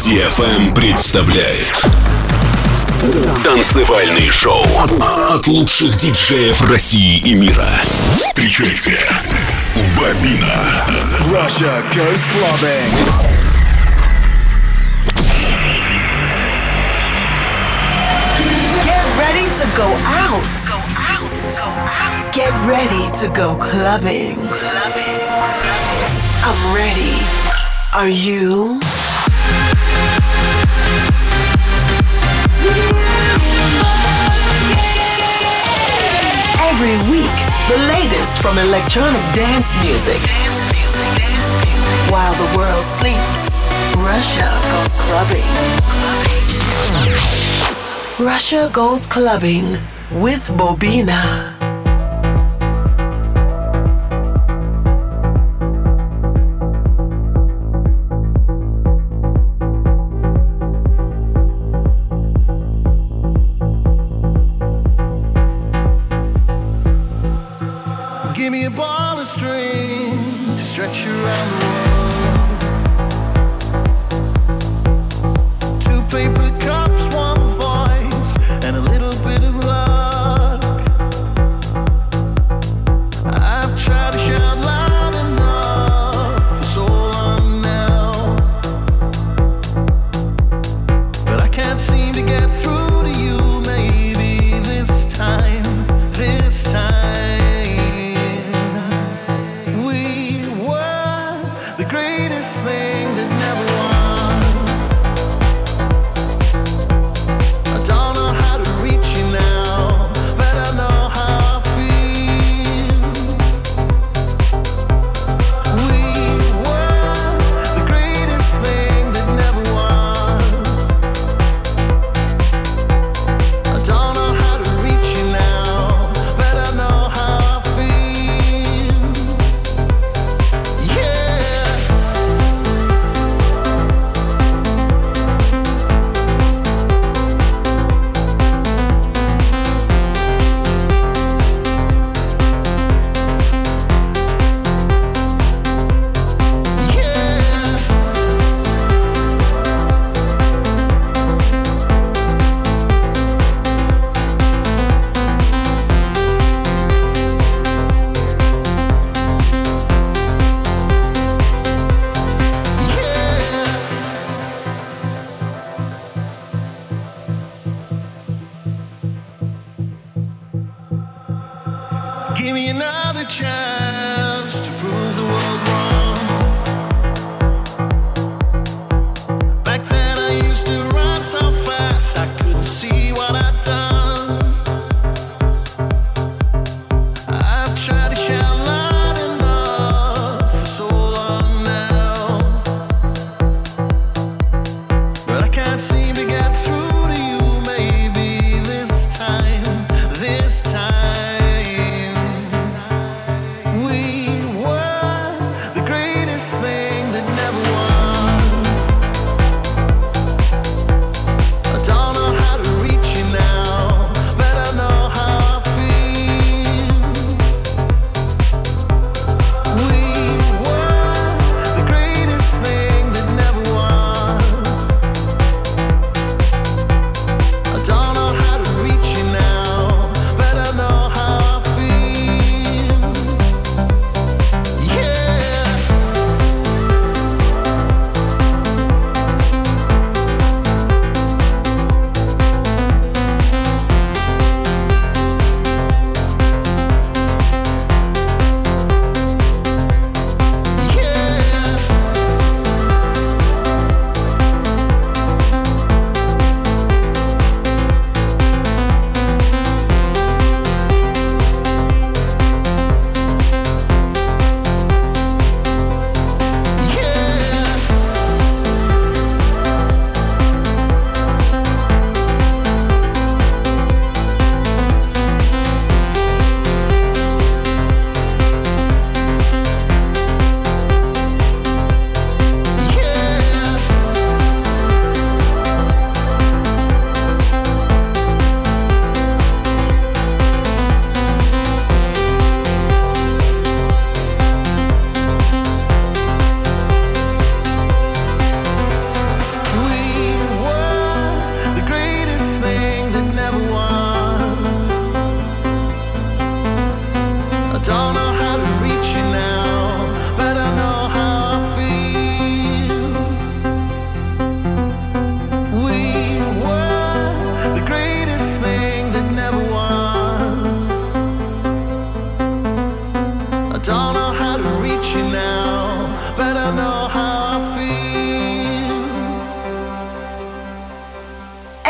DFM представляет танцевальный шоу от лучших диджеев России и мира. Встречайте, Бобина. Russia goes clubbing. Get ready to go out. Get ready to go clubbing. I'm ready. Are you? Every week, the latest from electronic dance music. While the world sleeps, Russia goes clubbing. Russia goes clubbing with Bobina. Give me a ball of string to stretch around the world. Two paper cups, one voice, and a little bit of luck. I've tried to shout loud enough for so long now, but I can't seem to get through to you. Maybe this time. Thing that never was. I don't know how to reach you now, but I know how I feel. We were the greatest thing that never was. I don't know how to reach you now, but I know how I feel. Yeah. Give me another chance to prove the world wrong. Back then I used to run so fast I couldn't see what I'd done. I've tried to shout loud enough for so long now, but I can't seem to get through to you. Maybe this time. Thing that never was. I don't know how to reach you now, but I know how I feel. We were the greatest thing that never was. I don't know how to reach you now, but I know how I feel. Yeah.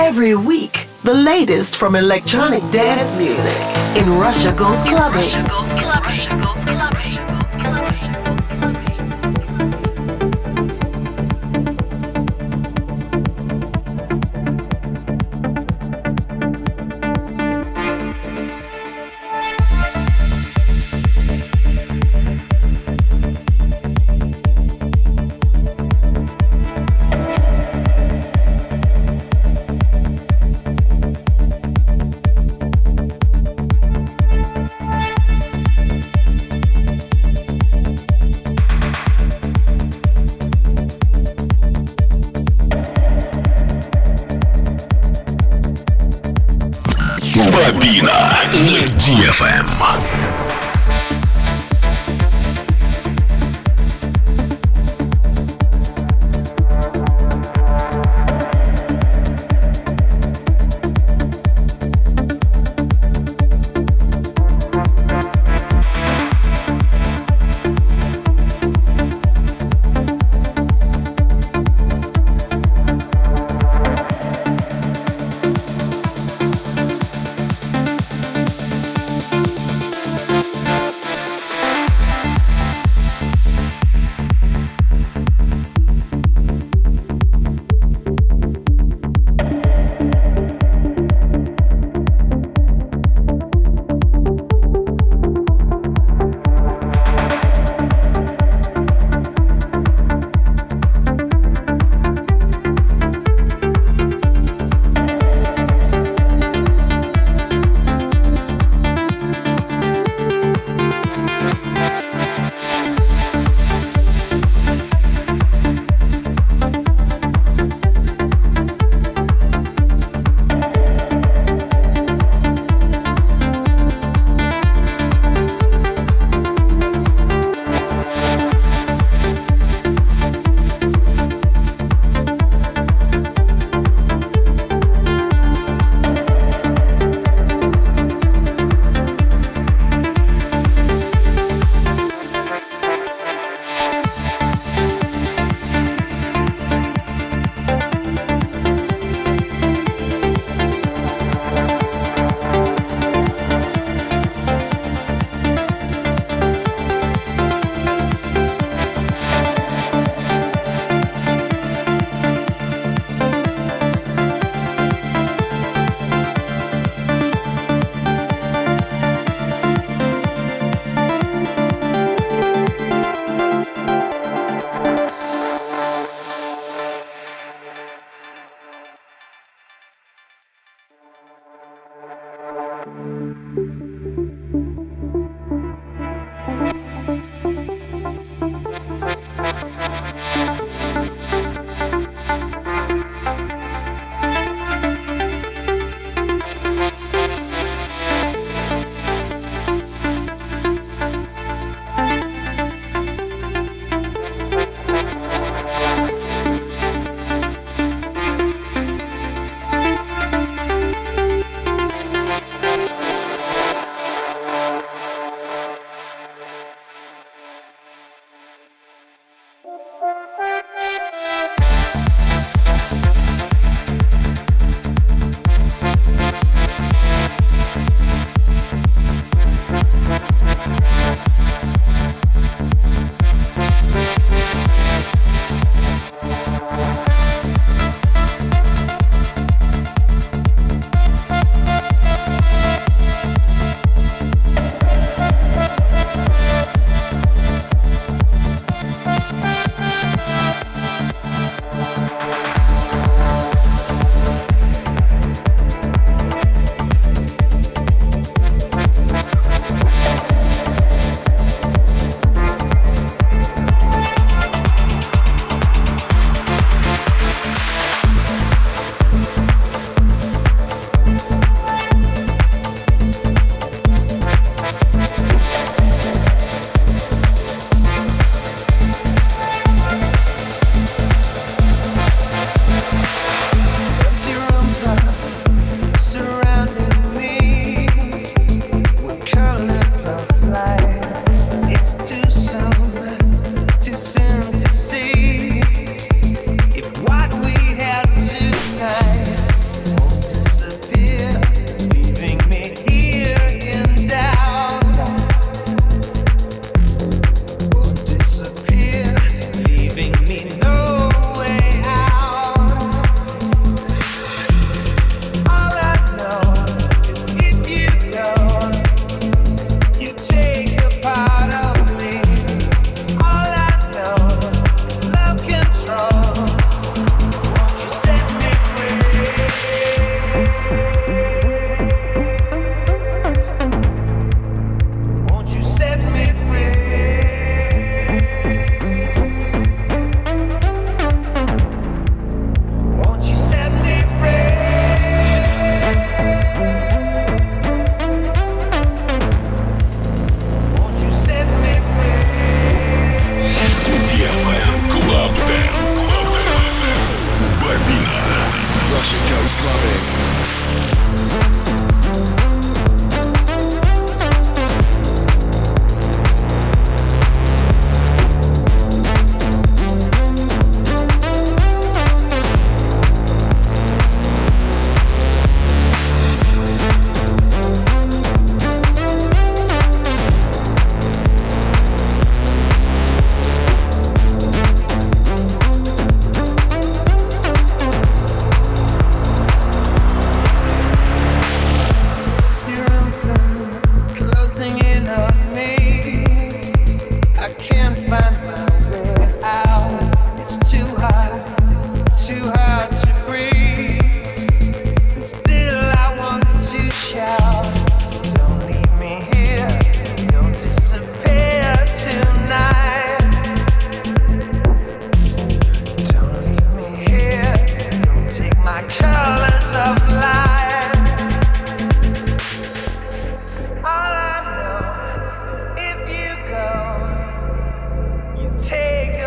Every week, the latest from electronic dance music in Russia Goes Clubbing. Russia Goes Clubbing. Russia Goes Clubbing. Russia Goes Clubbing. Бобина на DFM.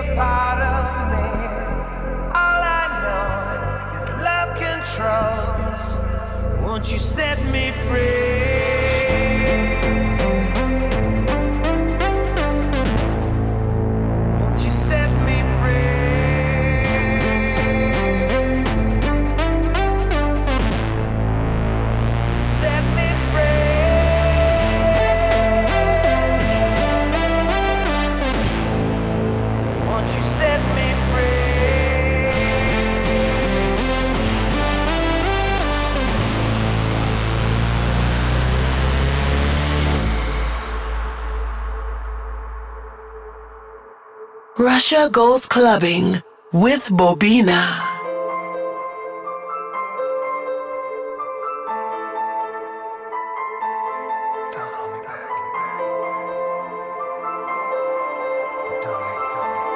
a part of me. All I know is love controls. Won't you set me free? Won't you set me free? Set me free. Won't you set me free? Russia Goes Clubbing with Bobina. Don't hold me back. Don't leave.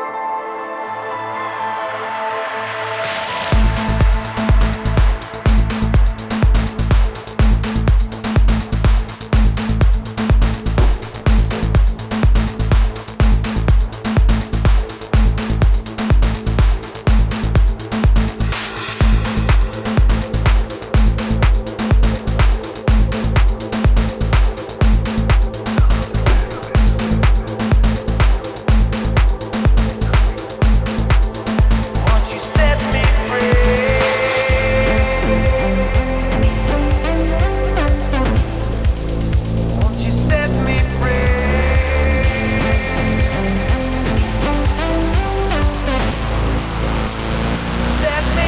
Won't you set me free? Won't you set me free? Set me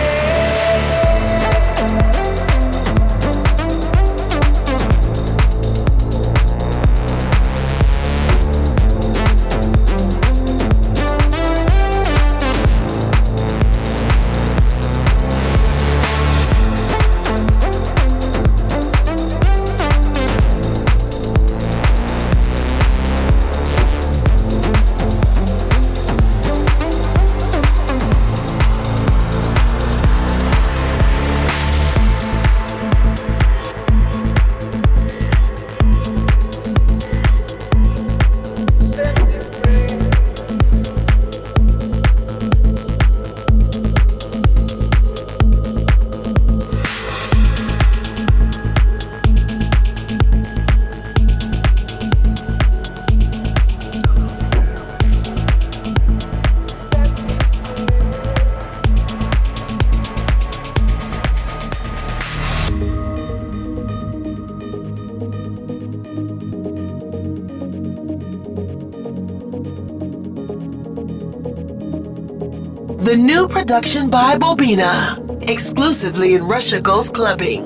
The new production by Bobina, exclusively in Russia Goes Clubbing.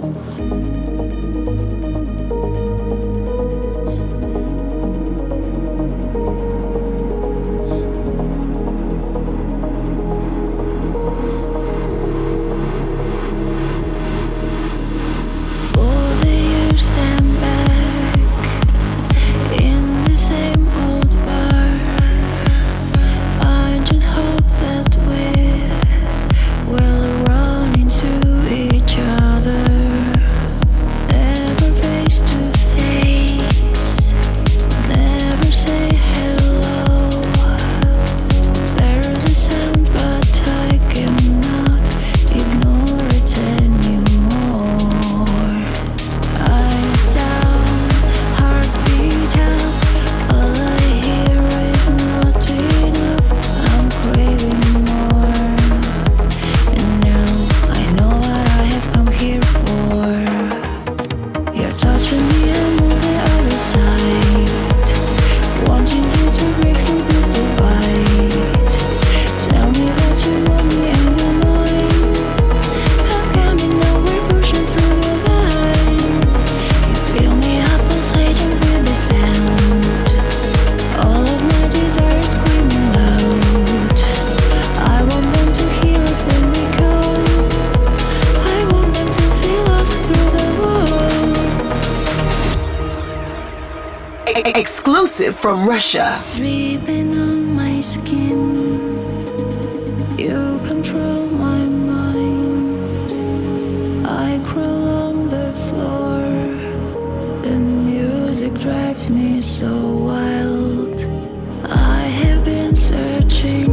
For the years stand back in the same old bar. I just hope that we will run into each other. Never face to face, never say hello. There's a sound, but I cannot ignore it anymore. Eyes down, heartbeat up. All I hear is not enough. I'm craving more, and now I know what I have come here for. You're touching me, I'm on the other side, wanting you to break through this divide. Tell me that you want me and you're mine. How come you know we're pushing through the line? You fill me up, pulsating with the sound. All of my desires screaming loud. I want them to hear us when we come. I want them to feel us through the wall. Exclusive from Russia. Dripping on my skin, you control my mind. I crawl on the floor. The music drives me so wild. I have been searching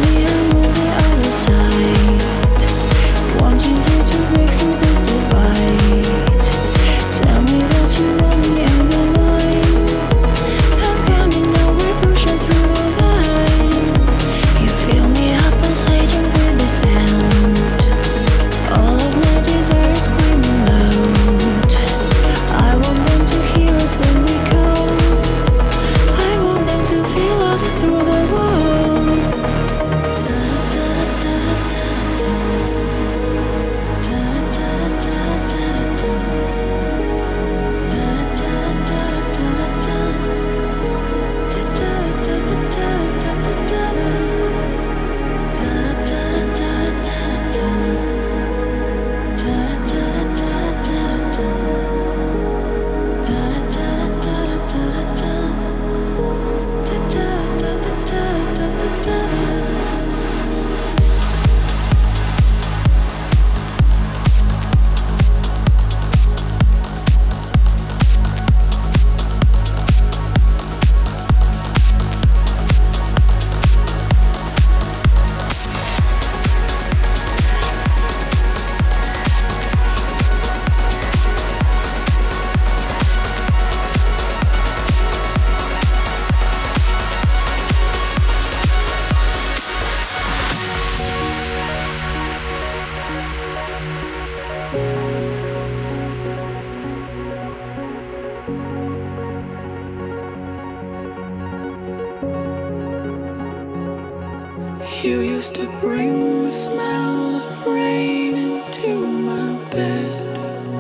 You used to bring the smell of rain into my bed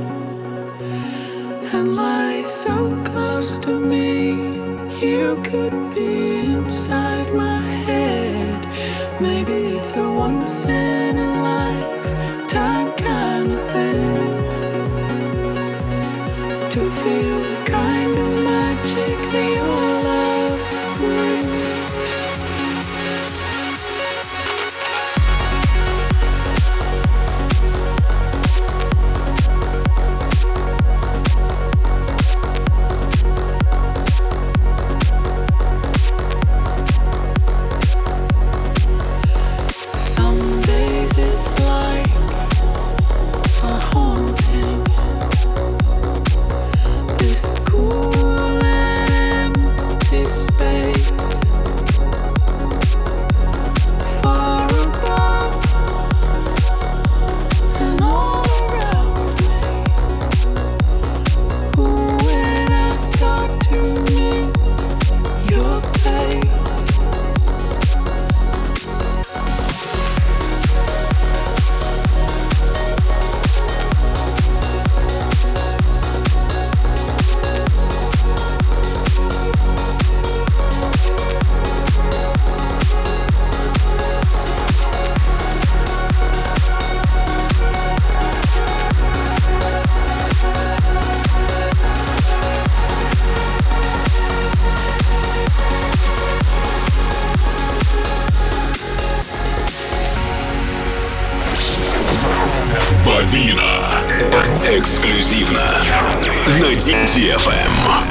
and lie so close to me. You could be inside my head. Maybe it's a once in a lifetime kind of thing to feel the kind of magic that your love brings. Бобина. Эксклюзивно на DFM.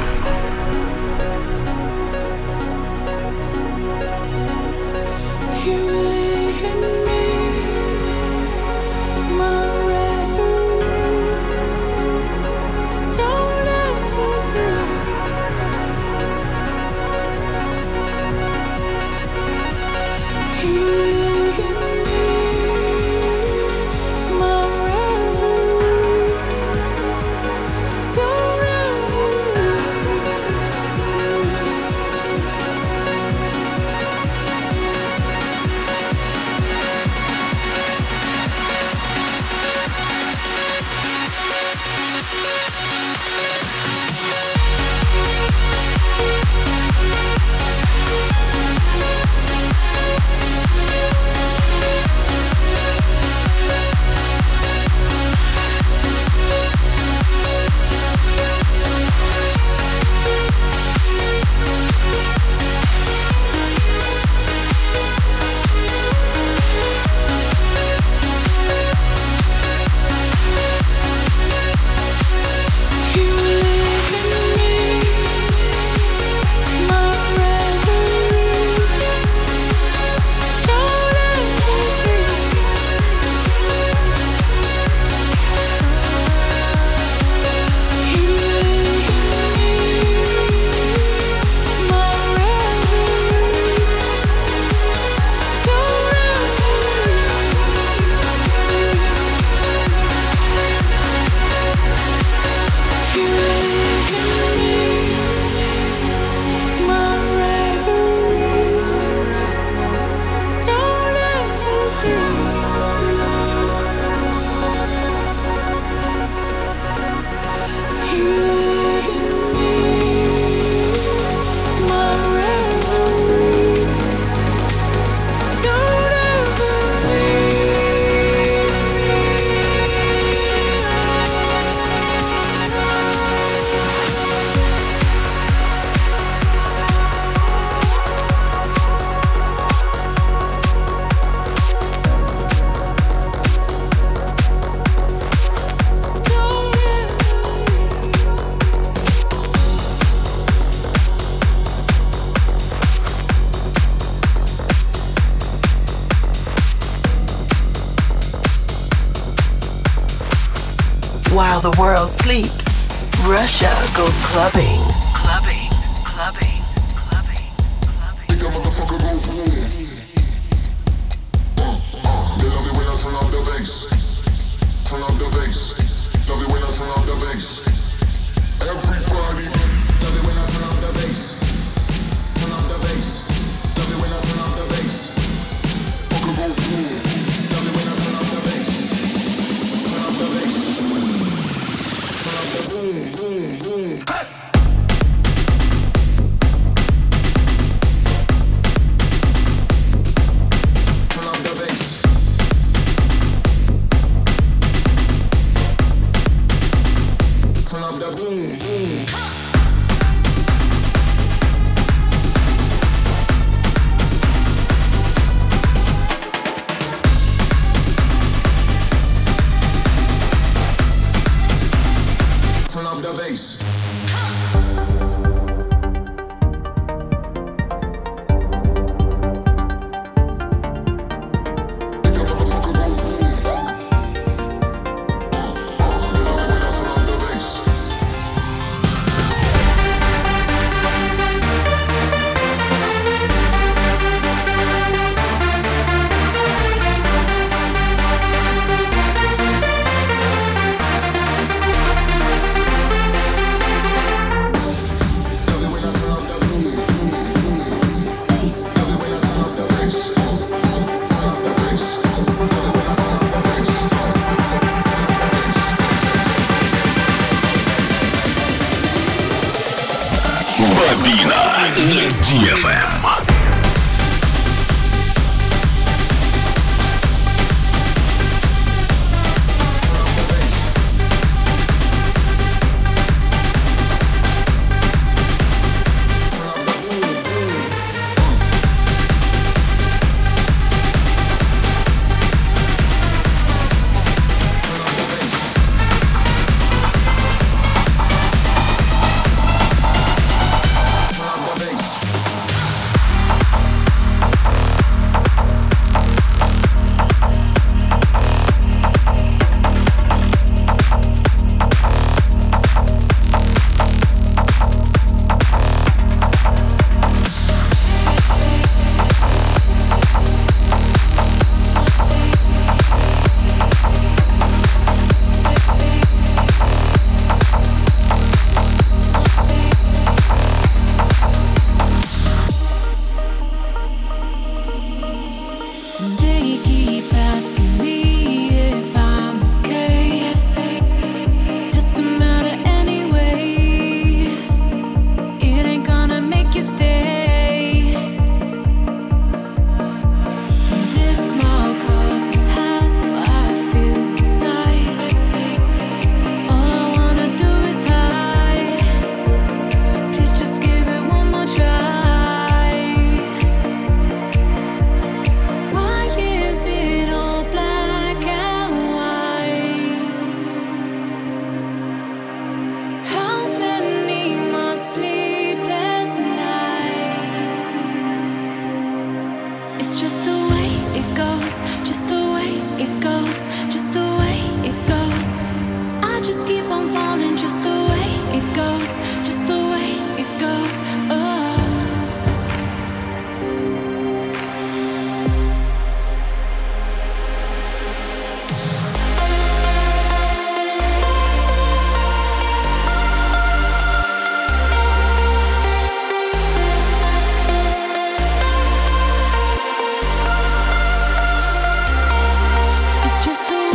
While the world sleeps, Russia goes clubbing. Clubbing, clubbing, clubbing, clubbing. Make a motherfucker go boom. They love it when I turn up the bass. Turn up the bass. Love it when I turn up the bass. Everybody love it when I turn up the bass. Turn up the bass. Love it when I turn up the bass. Fucker go boom. Love it when I turn up the bass. Turn up the bass. Turn up the boom, boom, boom. Hey! Boom, boom. Turn up the bass. Бобина на DFM. It's just the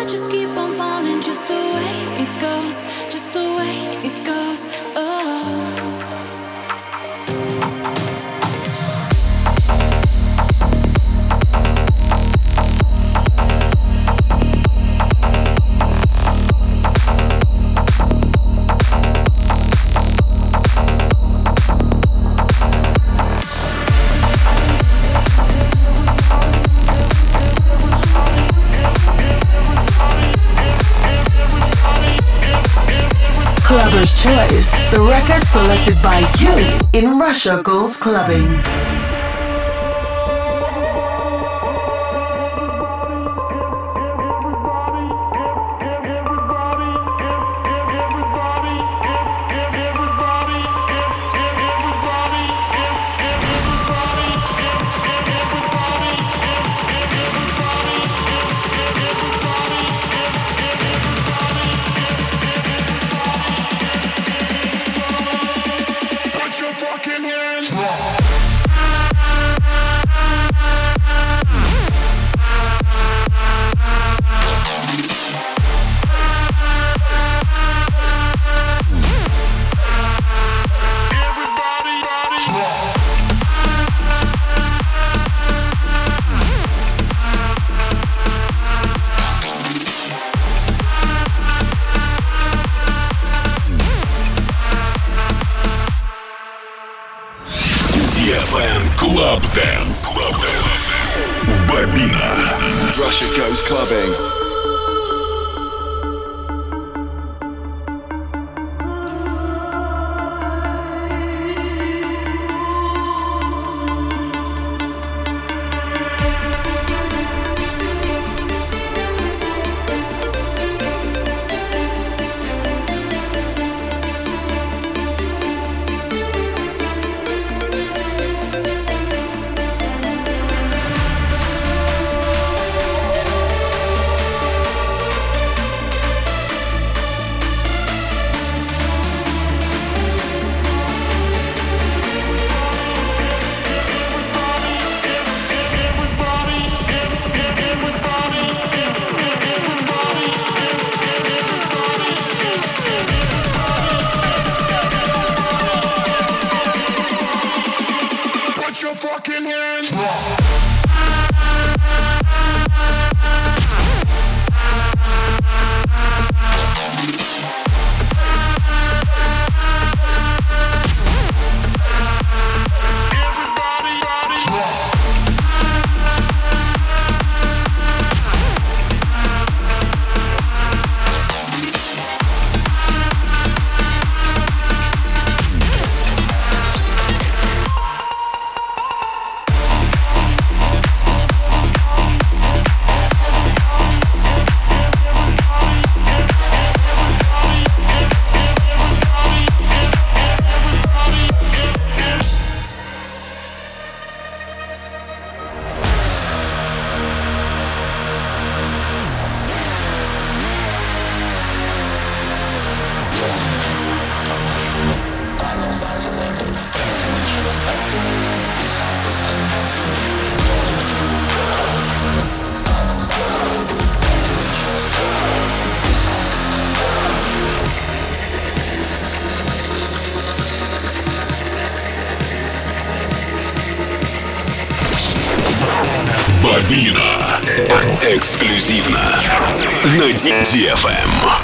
just keep on falling, just the way it goes, just the way it goes. Oh. Clubber's Choice, the record selected by you in Russia Goes Clubbing. Club Dance. Бобина. Russia Goes Clubbing. Бобина. Эксклюзивно на DFM.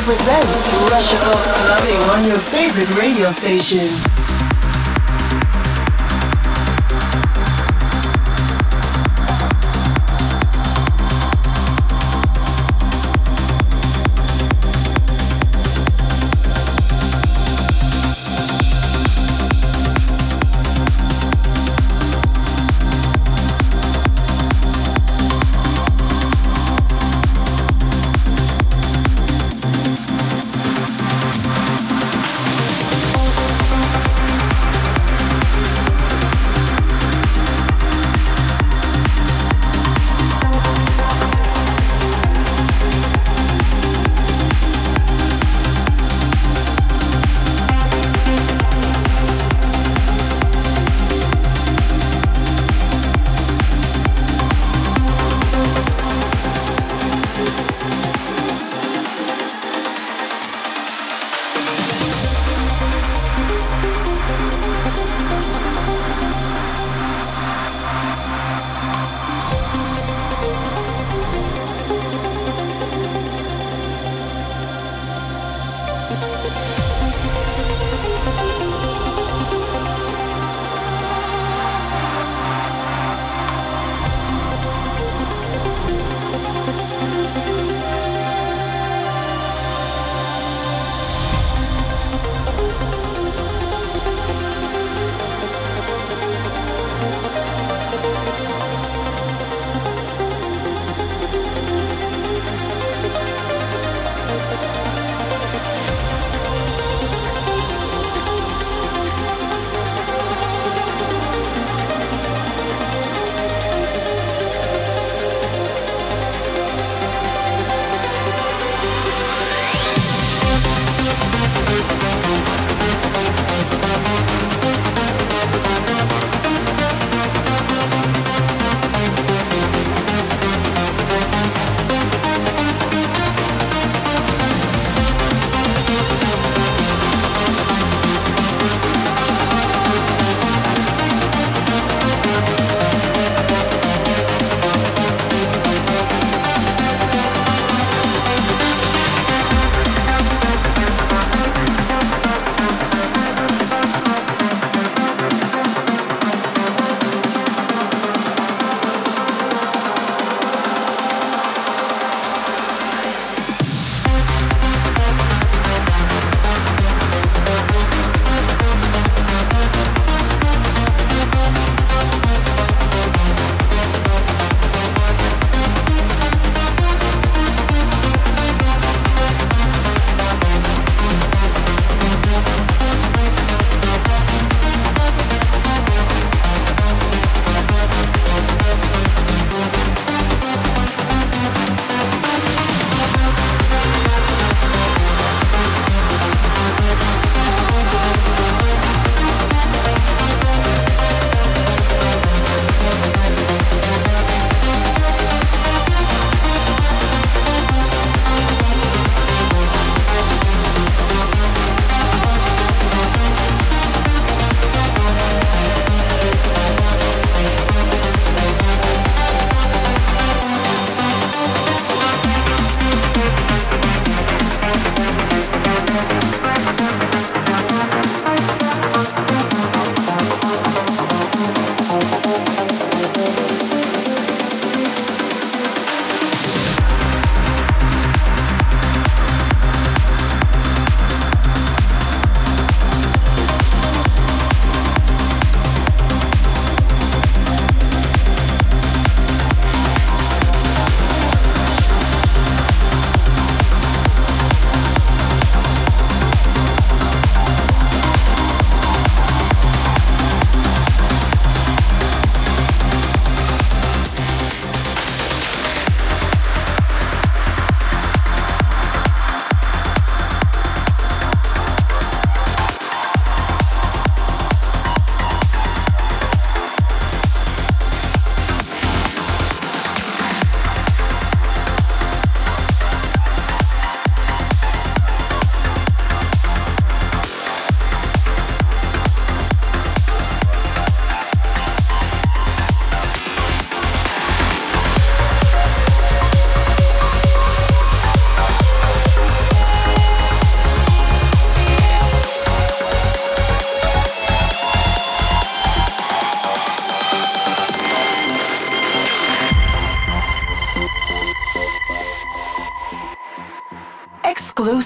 presents Russia Goes Clubbing on your favorite radio station.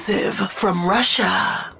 Exclusive from Russia.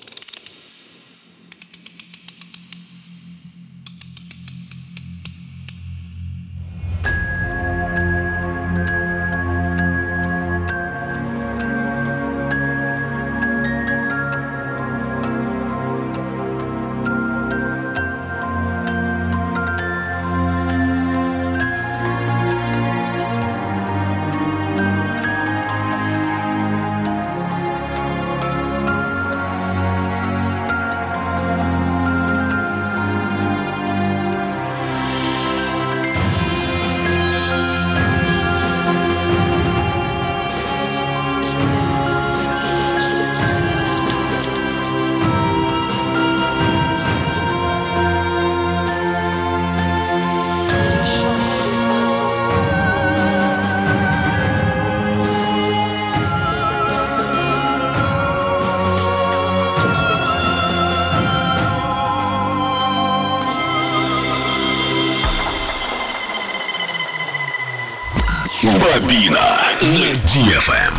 Бобина на DFM.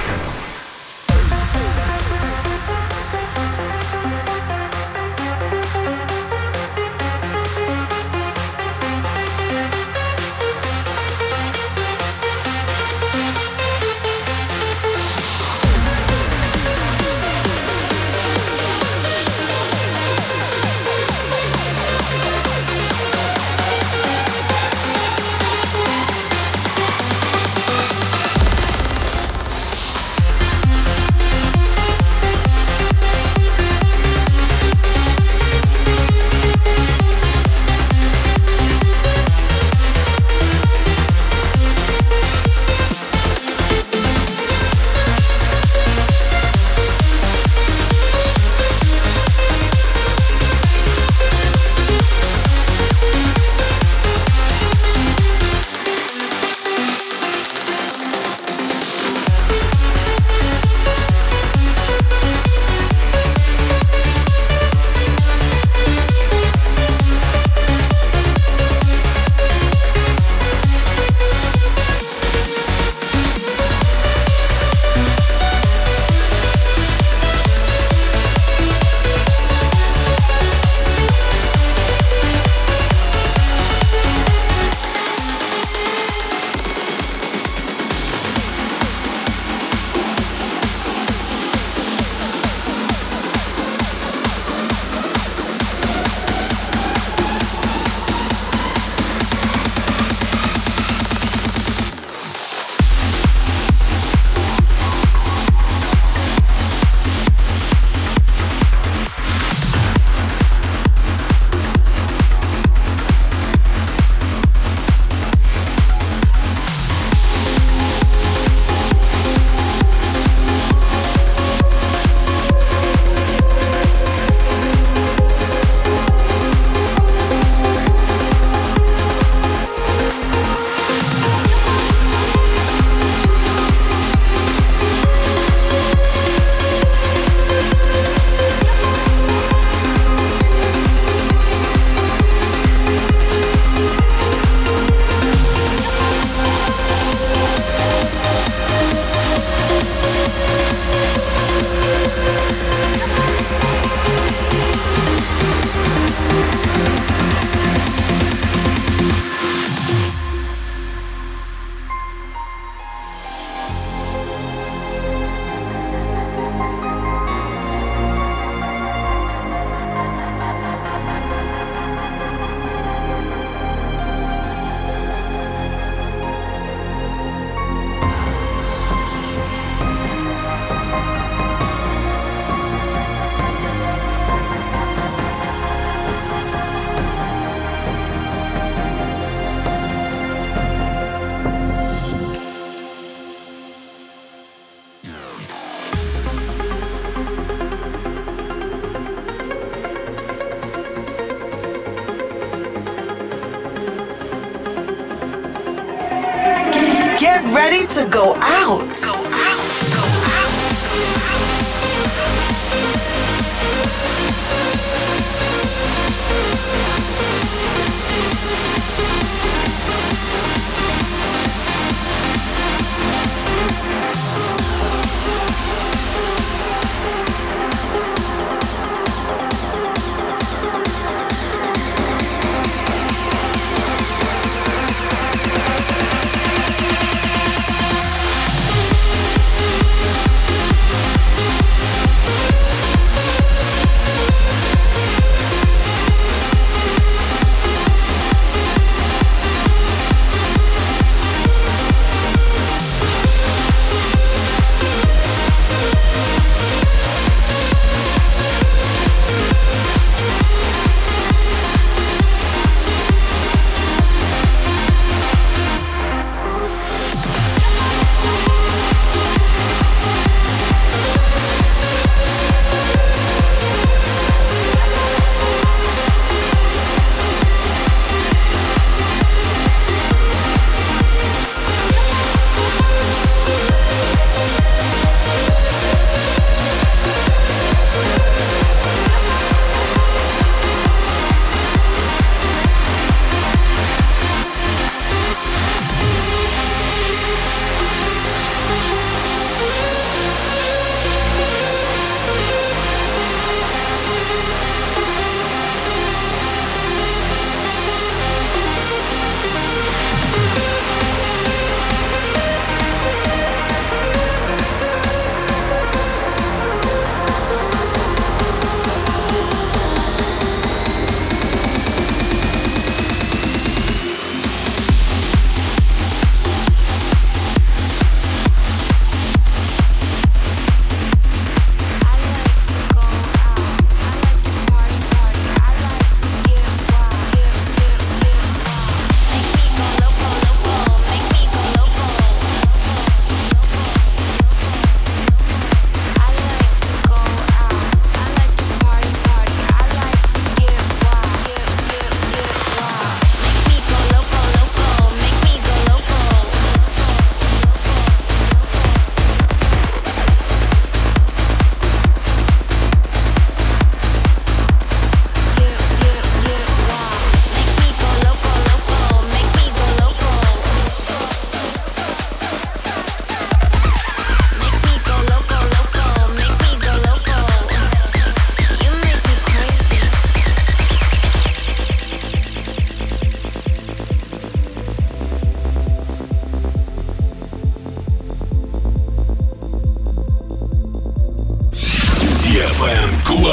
Get ready to go out.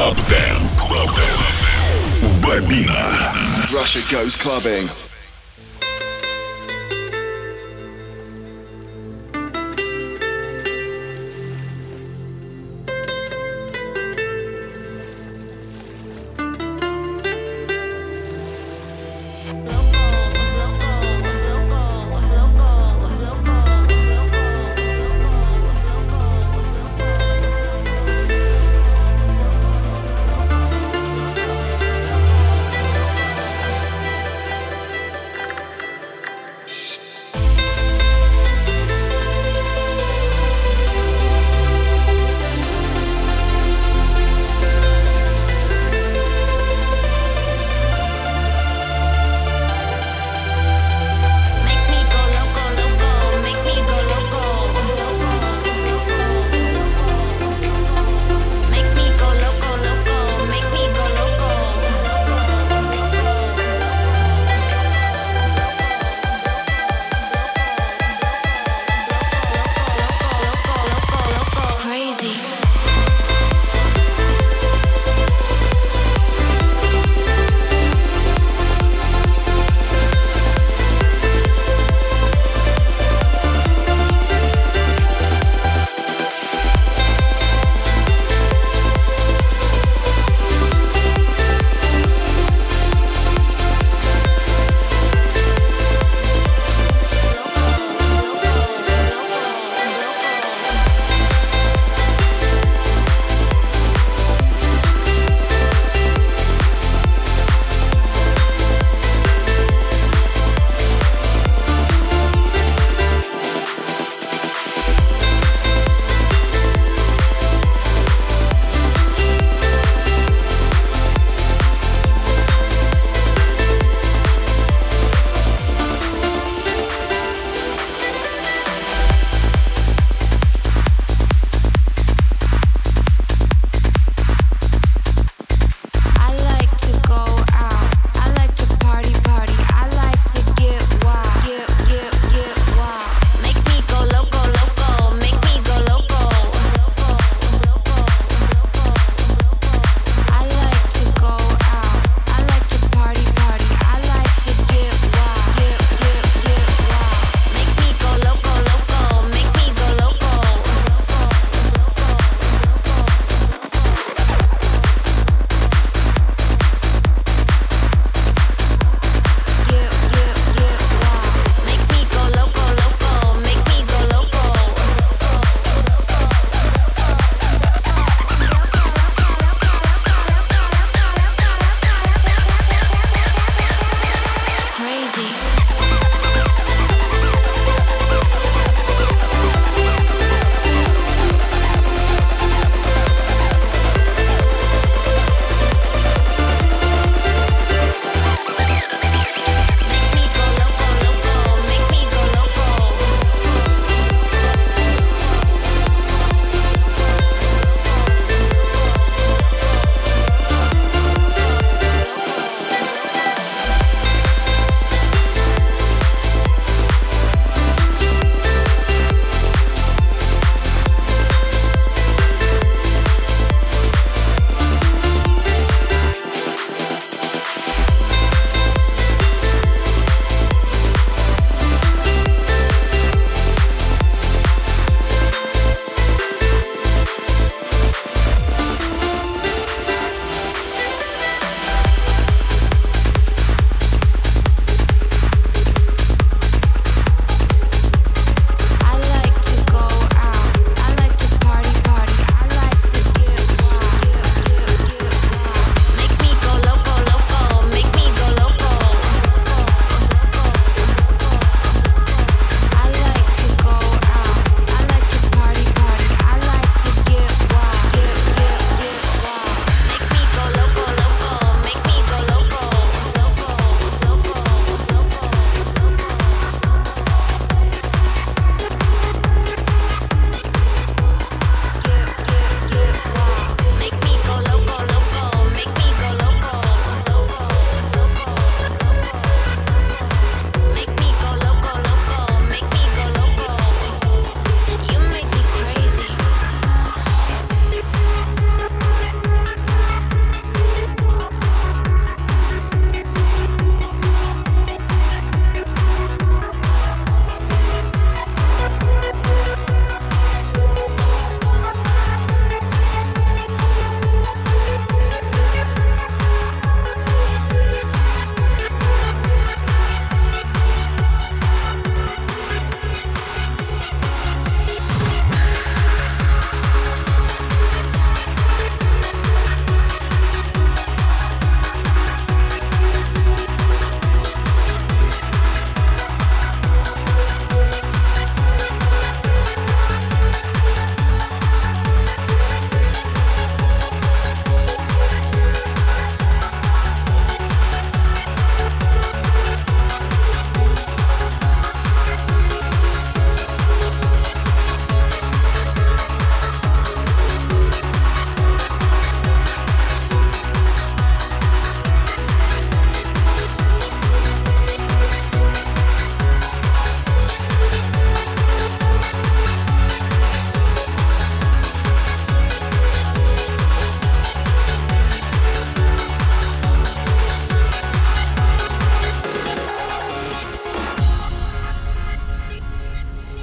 Club Dance. Бобина. Russia goes clubbing.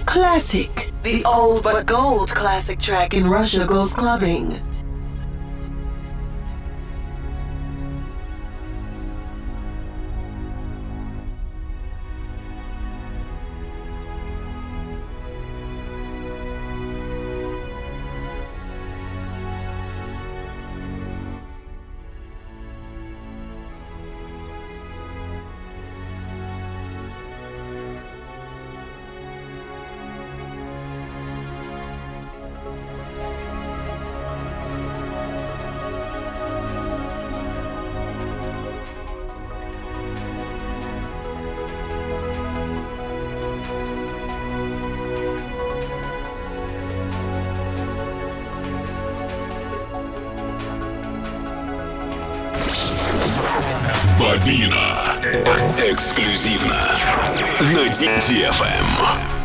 Classic, the old but gold classic track in Russia Goes Clubbing. Бобина. Эксклюзивно на DFM.